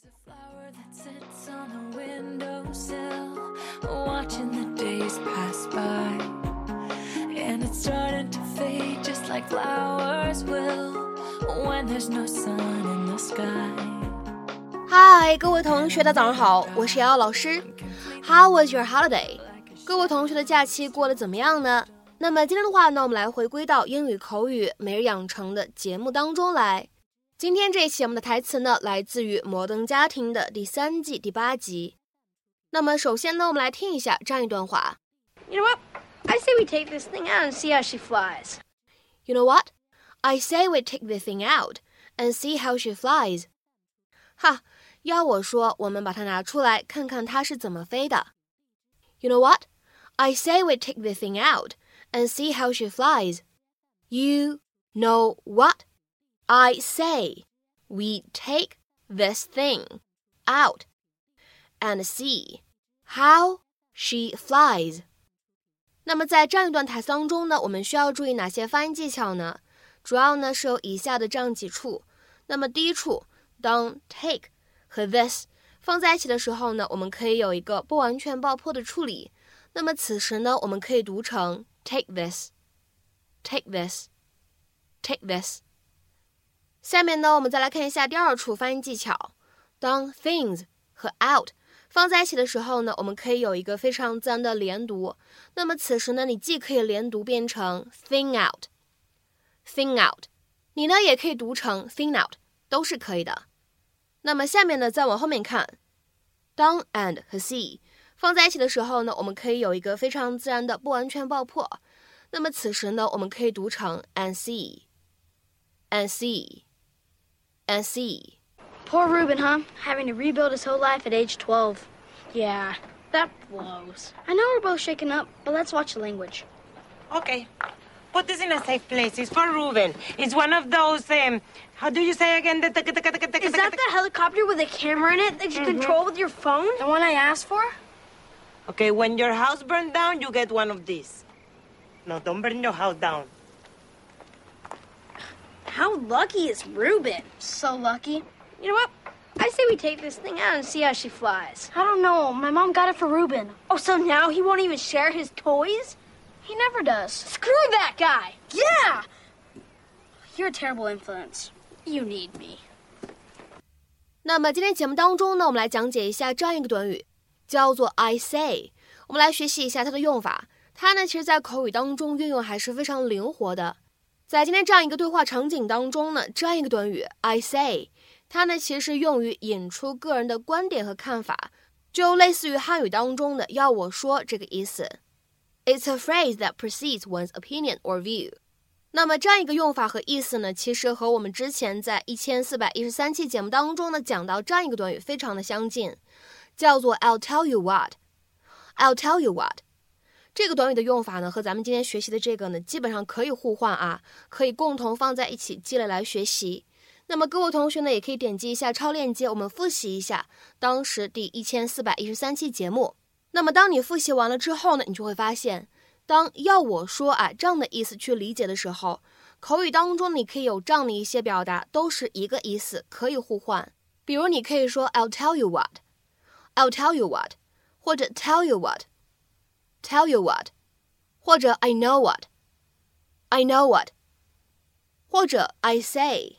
There's a flower that sits on the windowsill, watching the days pass by, and it's starting to fade just like flowers will when there's no sun in the sky. 嗨，各位同学，大家早上好，我是瑶瑶老师。How was your holiday？ 各位同学的假期过得怎么样呢？那么今天的话呢，我们来回归到英语口语每日养成的节目当中来。今天这一期我们的台词呢，来自于《摩登家庭》的第3季第8集。那么首先呢，我们来听一下这样一段话。 You know what? I say we take this thing out and see how she flies. You know what? I say we take this thing out and see how she flies. 哈，要我说，我们把它拿出来，看看它是怎么飞的。You know what? I say we take this thing out and see how she flies. You know what? I say we take this thing out and see how she flies. 那么在这样一段台词当中呢，我们需要注意哪些发音技巧呢？主要呢是有以下的这样几处。那么第一处，当 take 和 this 放在一起的时候呢，我们可以有一个不完全爆破的处理。那么此时呢，我们可以读成 take this, take this, take this。下面呢，我们再来看一下第二处发音技巧。当 things 和 out 放在一起的时候呢，我们可以有一个非常自然的连读。那么此时呢，你既可以连读变成 thing out, thing out， 你呢也可以读成 thing out， 都是可以的。那么下面呢，再往后面看，当 and 和 see 放在一起的时候呢，我们可以有一个非常自然的不完全爆破。那么此时呢，我们可以读成 and see, and see, and see. Poor Ruben, huh? Having to rebuild his whole life at age 12. Yeah, that blows. I know we're both shaken up, but let's watch the language. Okay. Put this in a safe place. It's for Ruben. It's one of those, how do you say again? Is that the helicopter with a camera in it that you control with your phone? The one I asked for? Okay, when your house burns down, you get one of these. No, don't burn your house down. How lucky is Ruben? So lucky. You know what? I say we take this thing out and see how she flies. I don't know. My mom got it for Ruben. Oh, so now he won't even share his toys? He never does. Screw that guy! Yeah! You're a terrible influence. You need me. 那么今天节目当中呢，我们来讲解一下这样一个短语，叫做 I say。我们来学习一下它的用法。它呢，其实在口语当中运用还是非常灵活的。在今天这样一个对话场景当中呢，这样一个短语 I say， 它呢其实是用于引出个人的观点和看法，就类似于汉语当中的要我说这个意思。It's a phrase that precedes one's opinion or view. 那么这样一个用法和意思呢，其实和我们之前在1413期节目当中呢讲到这样一个短语非常的相近，叫做 I'll tell you what. I'll tell you what. 这个短语的用法呢，和咱们今天学习的这个呢，基本上可以互换啊，可以共同放在一起积累来学习。那么各位同学呢，也可以点击一下超链接，我们复习一下当时第1413期节目。那么当你复习完了之后呢，你就会发现，当要我说啊这样的意思去理解的时候，口语当中你可以有这样的一些表达，都是一个意思，可以互换。比如你可以说 I'll tell you what, I'll tell you what， 或者 tell you what, tell you what， 或者 I know what, I know what， 或者 I say,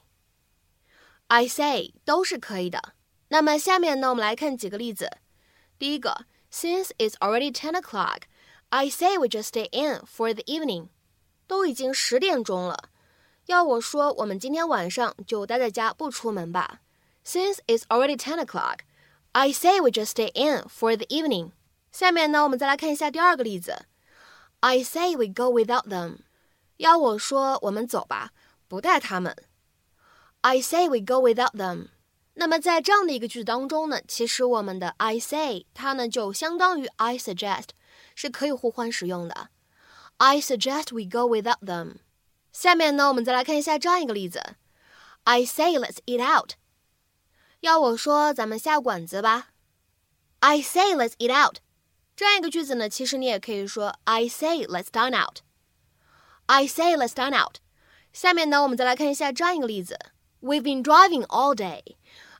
I say 都是可以的。那么下面呢，我们来看几个例子。第一个，Since it's already 10 o'clock, I say we just stay in for the evening. 都已经10点钟了，要我说我们今天晚上就待在家不出门吧。Since it's already 10 o'clock, I say we just stay in for the evening. 下面呢，我们再来看一下第二个例子。I say we go without them. 要我说我们走吧，不带他们。I say we go without them.那么在这样的一个句子当中呢，其实我们的 I say 它呢就相当于 I suggest， 是可以互换使用的。I suggest we go without them。 下面呢，我们再来看一下这样一个例子。I say let's eat out。 要我说咱们下馆子吧。I say let's eat out。 这样一个句子呢，其实你也可以说 I say let's dine out。 I say let's dine out。 下面呢，我们再来看一下这样一个例子。We've been driving all day.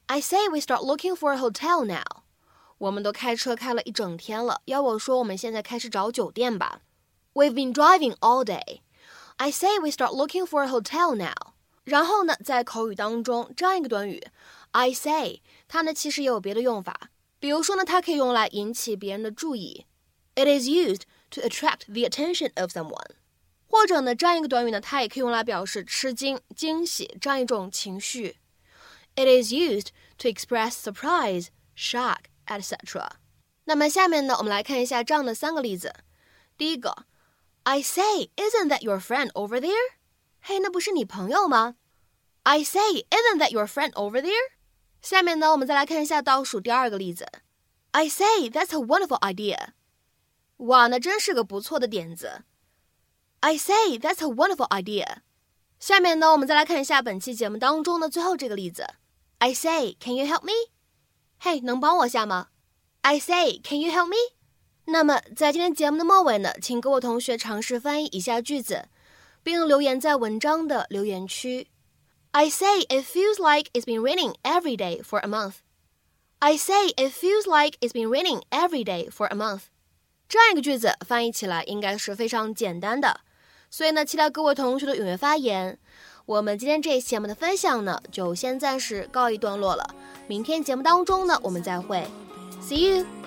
I say we start looking for a hotel now. 我们都开车开了一整天了，要我说我们现在开始找酒店吧。We've been driving all day. I say we start looking for a hotel now. 然后呢，在口语当中，这样一个短语 I say 它呢其实也有别的用法，比如说呢，它可以用来引起别人的注意。It is used to attract the attention of someone. 或者呢，这样一个短语呢，它也可以用来表示吃惊、惊喜这样一种情绪。It is used to express surprise, shock, etc. 那么下面呢，我们来看一下这样的3个例子。第一个 I say, isn't that your friend over there? 嘿，那不是你朋友吗？ I say, isn't that your friend over there? 下面呢，我们再来看一下倒数第2个例子。I say, that's a wonderful idea. 哇，那真是个不错的点子。I say, that's a wonderful idea. 下面呢，我们再来看一下本期节目当中的最后这个例子。I say, can you help me? 嘿，能帮我下吗？ I say, can you help me? 那么在今天节目的末尾呢，请各位同学尝试翻译以下句子，并留言在文章的留言区。I say it feels like it's been raining every day for a month. I say it feels like it's been raining every day for a month. 这样一个句子翻译起来应该是非常简单的，所以呢，期待各位同学的踊跃发言。我们今天这一期节目的分享呢，就先暂时告一段落了。明天节目当中呢，我们再会。See you!